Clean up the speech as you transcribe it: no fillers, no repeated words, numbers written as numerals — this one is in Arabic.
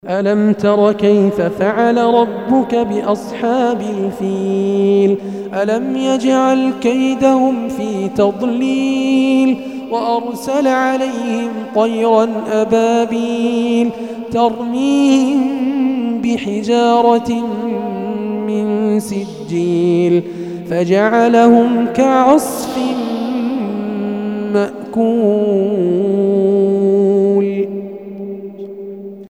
ألم تر كيف فعل ربك بأصحاب الفيل ألم يجعل كيدهم في تضليل وأرسل عليهم طيرا أبابيل ترميهم بحجارة من سجيل فجعلهم كعصف مأكول.